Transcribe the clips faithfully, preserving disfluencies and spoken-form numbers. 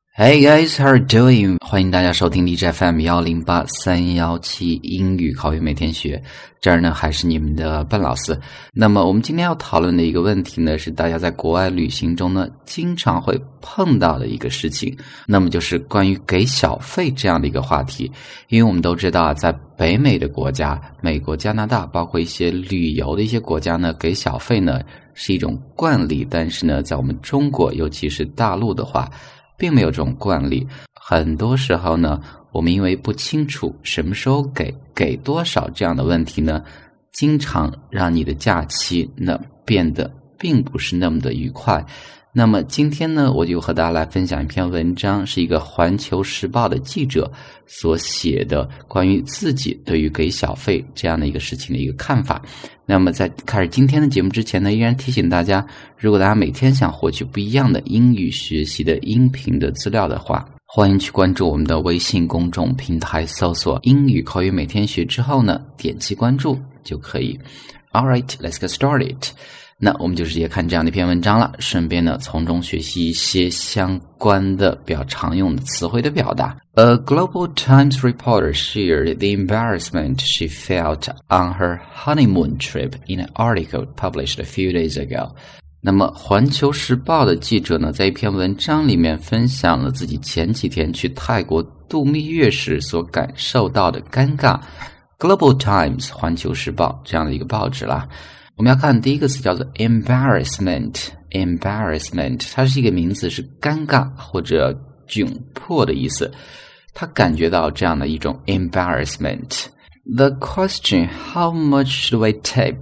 Hey guys, how are you doing? 欢迎大家收听荔枝 F M 一零八三一七英语口语每天学，这儿呢还是你们的笨老师。那么我们今天要讨论的一个问题呢，是大家在国外旅行中呢经常会碰到的一个事情，那么就是关于给小费这样的一个话题。因为我们都知道啊，在北美的国家，美国、加拿大，包括一些旅游的一些国家呢，给小费呢是一种惯例，但是呢，在我们中国，尤其是大陆的话，并没有这种惯例。很多时候呢，我们因为不清楚什么时候给给多少这样的问题呢，经常让你的假期呢变得并不是那么的愉快。那么今天呢，我就和大家来分享一篇文章，是一个环球时报的记者所写的关于自己对于给小费这样的一个事情的一个看法。那么在开始今天的节目之前呢，依然提醒大家，如果大家每天想获取不一样的英语学习的音频的资料的话，欢迎去关注我们的微信公众平台，搜索英语口语每天学之后呢，点击关注就可以。Alright, let's get started. 那我们就直接看这样的一篇文章了，顺便呢从中学习一些相关的比较常用的词汇的表达。A Global Times reporter shared the embarrassment she felt on her honeymoon trip in an article published a few days ago. 那么环球时报的记者呢，在一篇文章里面分享了自己前几天去泰国度蜜月时所感受到的尴尬。Global Times 环球时报这样的一个报纸啦。我们要看第一个词叫做 embarrassment embarrassment 它是一个名词，是尴尬或者窘迫的意思。他感觉到这样的一种 embarrassment. The question, how much should I tip,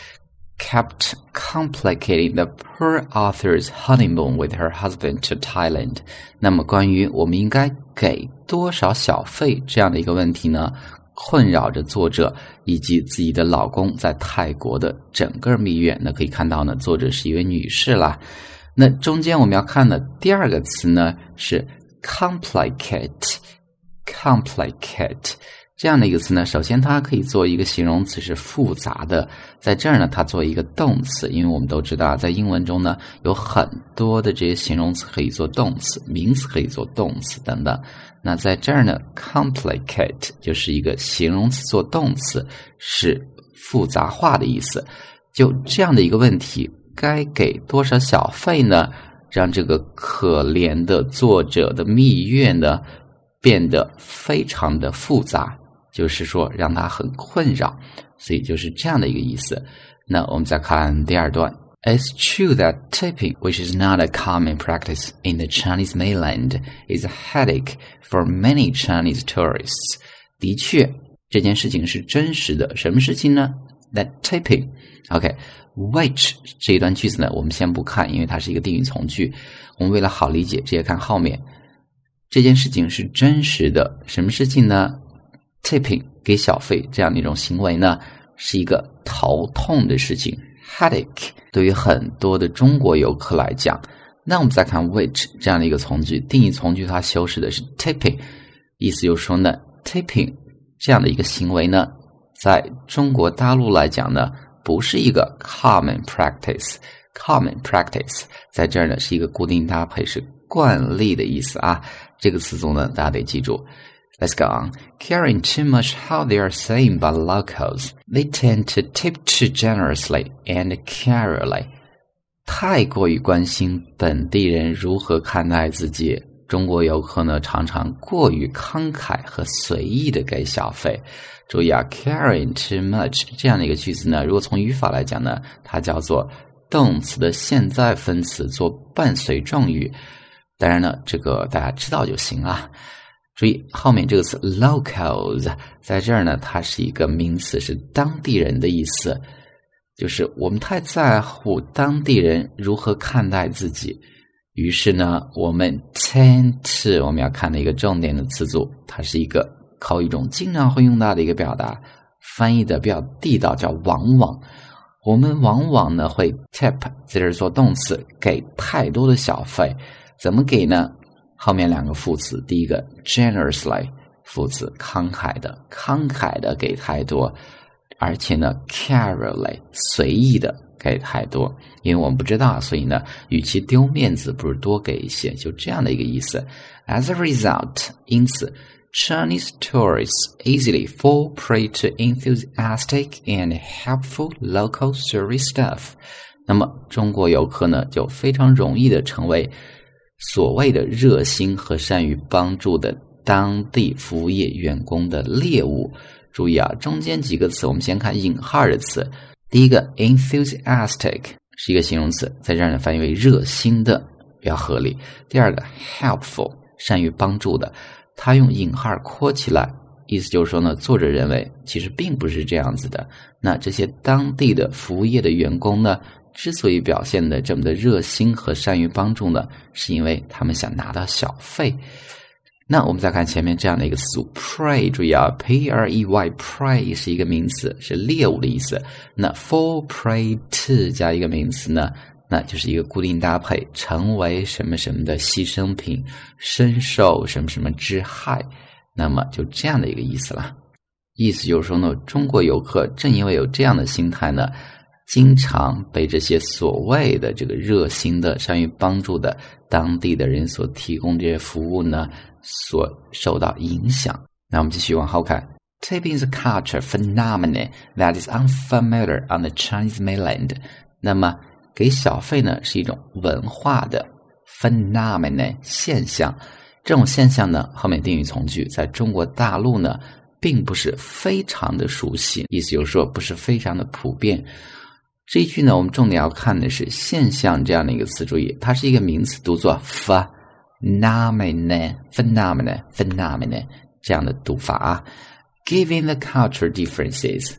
kept complicating the poor author's honeymoon with her husband to Thailand. 那么关于我们应该给多少小费这样的一个问题呢，困扰着作者以及自己的老公在泰国的整个蜜月。那可以看到呢，作者是一位女士啦。那中间我们要看的第二个词呢是 complicate complicate 这样的一个词呢，首先它可以做一个形容词，是复杂的。在这儿呢，它做一个动词，因为我们都知道在英文中呢有很多的这些形容词可以做动词，名词可以做动词等等。那在这儿呢 complicate 就是一个形容词做动词，是复杂化的意思。就这样的一个问题，该给多少小费呢，让这个可怜的作者的蜜月呢变得非常的复杂，就是说让他很困扰，所以就是这样的一个意思。那我们再看第二段。It's true that tipping, which is not a common practice in the Chinese mainland, is a headache for many Chinese tourists. 的确，这件事情是真实的。什么事情呢？ That tipping. OK, which 这一段句子呢，我们先不看，因为它是一个定语从句。我们为了好理解，直接看后面。这件事情是真实的。什么事情呢？ Tipping, 给小费这样的一种行为呢，是一个头痛的事情。Headache 对于很多的中国游客来讲，那我们再看 which 这样的一个从句，定义从句它修饰的是 tipping， 意思就是说呢 tipping 这样的一个行为呢，在中国大陆来讲呢，不是一个 common practice common practice 在这儿呢是一个固定搭配，是惯例的意思啊。这个词组呢大家得记住。Let's go on. Caring too much how they are saying by locals, they tend to tip too generously and carefully. 太过于关心本地人如何看待自己，中国游客呢常常过于慷慨和随意的给小费。注意啊 caring too much 这样的一个句子呢，如果从语法来讲呢，它叫做动词的现在分词做伴随状语。当然呢，这个大家知道就行啊。注意后面这个词 locals， 在这儿呢它是一个名词，是当地人的意思，就是我们太在乎当地人如何看待自己，于是呢我们 tend to 我们要看的一个重点的词组，它是一个口语中经常会用到的一个表达，翻译的比较地道叫往往。我们往往呢会 tip 在这儿做动词，给太多的小费。怎么给呢？后面两个副词，第一个 generously 副词，慷慨的，慷慨的给太多，而且呢 carefully 随意的给太多，因为我们不知道，所以呢，与其丢面子，不如多给一些，就这样的一个意思。As a result， 因此 Chinese tourists easily fall prey to enthusiastic and helpful local service staff。那么中国游客呢，就非常容易的成为所谓的热心和善于帮助的当地服务业员工的猎物。注意啊，中间几个词我们先看引号的词。第一个 enthusiastic 是一个形容词，在这儿呢翻译为热心的，比较合理。第二个 helpful 善于帮助的，它用引号括起来，意思就是说呢，作者认为其实并不是这样子的。那这些当地的服务业的员工呢，之所以表现的这么的热心和善于帮助呢，是因为他们想拿到小费。那我们再看前面这样的一个词组 prey， 注意啊 P R E Y prey 是一个名词，是猎物的意思。那 fall prey to 加一个名词呢，那就是一个固定搭配，成为什么什么的牺牲品，深受什么什么之害，那么就这样的一个意思了。意思就是说呢，中国游客正因为有这样的心态呢，经常被这些所谓的这个热心的善于帮助的当地的人所提供这些服务呢所受到影响。那我们继续往后看。Tipping is a culture phenomenon that is unfamiliar on the Chinese mainland。 那么给小费呢是一种文化的 phenomenon 现象，这种现象呢后面定语从句在中国大陆呢并不是非常的熟悉，意思就是说不是非常的普遍。这一句呢我们重点要看的是现象这样的一个词，注意它是一个名词，读作 phenomenon phenomenon phenomenon 这样的读法啊。Given the cultural differences,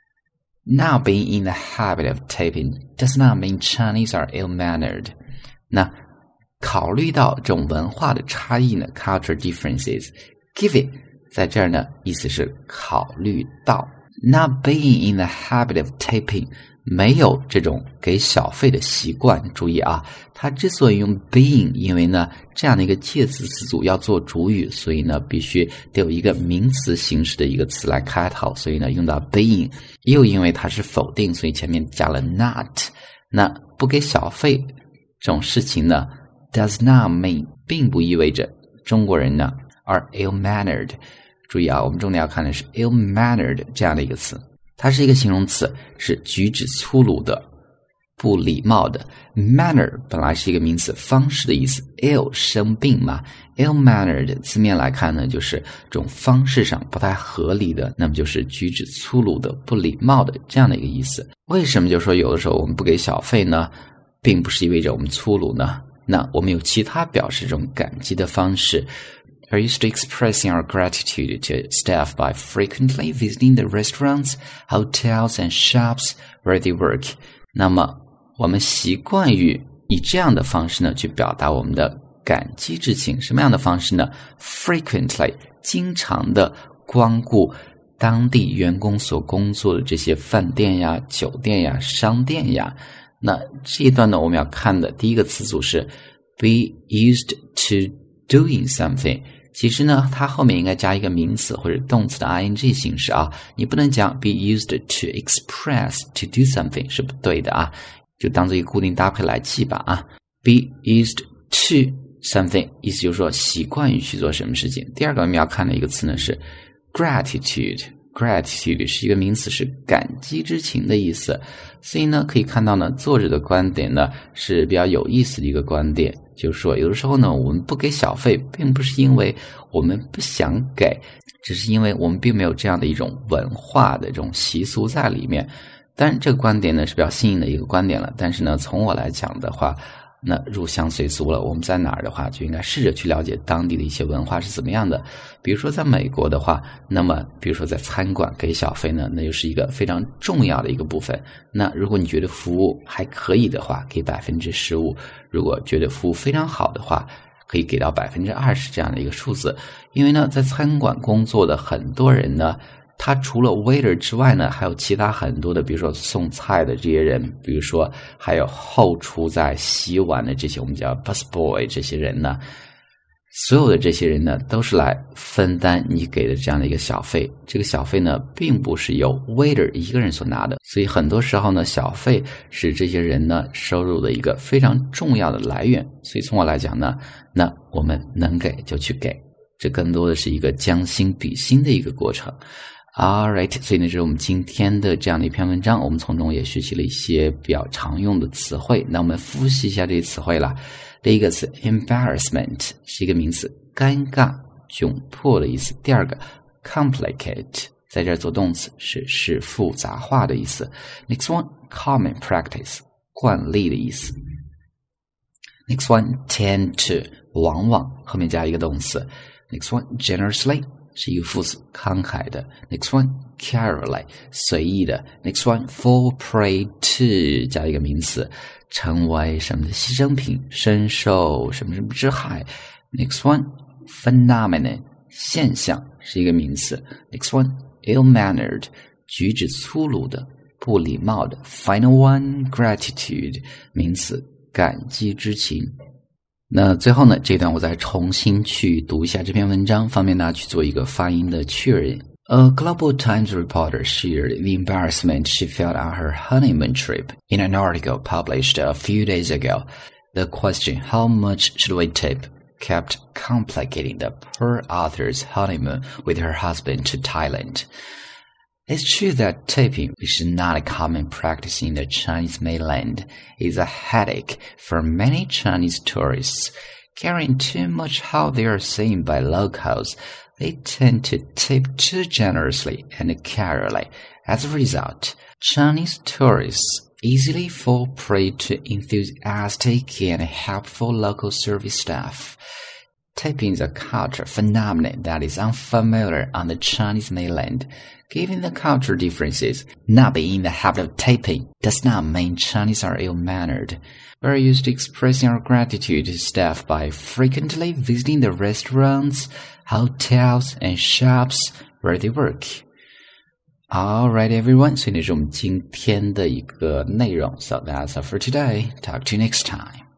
not being in the habit of tipping does not mean Chinese are ill-mannered。 那考虑到这种文化的差异呢 cultural differences， given 在这儿呢意思是考虑到， not being in the habit of tipping没有这种给小费的习惯。注意啊，它之所以用 being， 因为呢这样的一个介词词组要做主语，所以呢必须得有一个名词形式的一个词来开头，所以呢用到 being。 又因为它是否定，所以前面加了 not。 那不给小费这种事情呢 does not mean 并不意味着中国人呢 are ill-mannered。 注意啊，我们重点要看的是 ill-mannered 这样的一个词，它是一个形容词，是举止粗鲁的，不礼貌的。 manner 本来是一个名词，方式的意思， ill 生病嘛， ill-mannered 字面来看呢就是这种方式上不太合理的，那么就是举止粗鲁的，不礼貌的这样的一个意思。为什么就说有的时候我们不给小费呢并不是意味着我们粗鲁呢？那我们有其他表示这种感激的方式。We're used to expressing our gratitude to staff by frequently visiting the restaurants, hotels, and shops where they work. 那么我们习惯于以这样的方式呢去表达我们的感激之情。什么样的方式呢？ Frequently 经常的光顾当地员工所工作的这些饭店呀、酒店呀、商店呀。那这一段呢我们要看的第一个词组是 be used to doing something。其实呢它后面应该加一个名词或者动词的 ing 形式啊，你不能讲 be used to express to do something 是不对的啊，就当做一个固定搭配来记吧啊。be used to something 意思就是说习惯于去做什么事情。第二个我们要看的一个词呢是 gratitude。 gratitude 是一个名词，是感激之情的意思。所以呢可以看到呢作者的观点呢是比较有意思的一个观点，就是说有的时候呢我们不给小费并不是因为我们不想给，只是因为我们并没有这样的一种文化的这种习俗在里面。当然这个观点呢是比较新颖的一个观点了，但是呢从我来讲的话，那入乡随俗了，我们在哪儿的话就应该试着去了解当地的一些文化是怎么样的。比如说在美国的话，那么比如说在餐馆给小费呢，那就是一个非常重要的一个部分。那如果你觉得服务还可以的话，给 百分之十五， 如果觉得服务非常好的话，可以给到 百分之二十 这样的一个数字。因为呢在餐馆工作的很多人呢，他除了 waiter 之外呢还有其他很多的，比如说送菜的这些人，比如说还有后厨在洗碗的这些我们叫 busboy 这些人呢， 所有的这些人呢，都是来分担你给的这样的一个小费。这个小费呢，并不是由 waiter 一个人所拿的，所以很多时候呢，小费是这些人呢收入的一个非常重要的来源。所以从我来讲呢，那我们能给就去给，这更多的是一个将心比心的一个过程。All right， 所以呢，这是我们今天的这样的一篇文章，我们从中也学习了一些比较常用的词汇。那我们复习一下这些词汇啦。第一个词 embarrassment 是一个名词，尴尬、窘迫的意思。第二个 complicate 在这儿做动词，是使复杂化的意思。Next one common practice 惯例的意思。Next one tend to 往往后面加一个动词。Next one generously是一个副词，慷慨的。Next one carefully 随意的。Next one fall prey to 加一个名词，成为什么的牺牲品，深受什么什么之害。Next one phenomenon 现象是一个名词。Next one ill-mannered 举止粗鲁的，不礼貌的。Final one gratitude 名词，感激之情。那最后呢，这段我再重新去读一下这篇文章，方便大家去做一个发音的确认。A Global Times reporter shared the embarrassment she felt on her honeymoon trip in an article published a few days ago. The question, how much should we tip, kept complicating the poor author's honeymoon with her husband to Thailand. It's true that tipping, which is not a common practice in the Chinese mainland, is a headache for many Chinese tourists. Caring too much how they are seen by locals, they tend to tip too generously and carefully. As a result, Chinese tourists easily fall prey to enthusiastic and helpful local service staff. Tipping is a cultural phenomenon that is unfamiliar on the Chinese mainland. Given the cultural differences, not being in the habit of tipping does not mean Chinese are ill-mannered. We're used to expressing our gratitude to staff by frequently visiting the restaurants, hotels, and shops where they work. Alright everyone, 所以这是我们今天的一个内容。So that's all for today. Talk to you next time.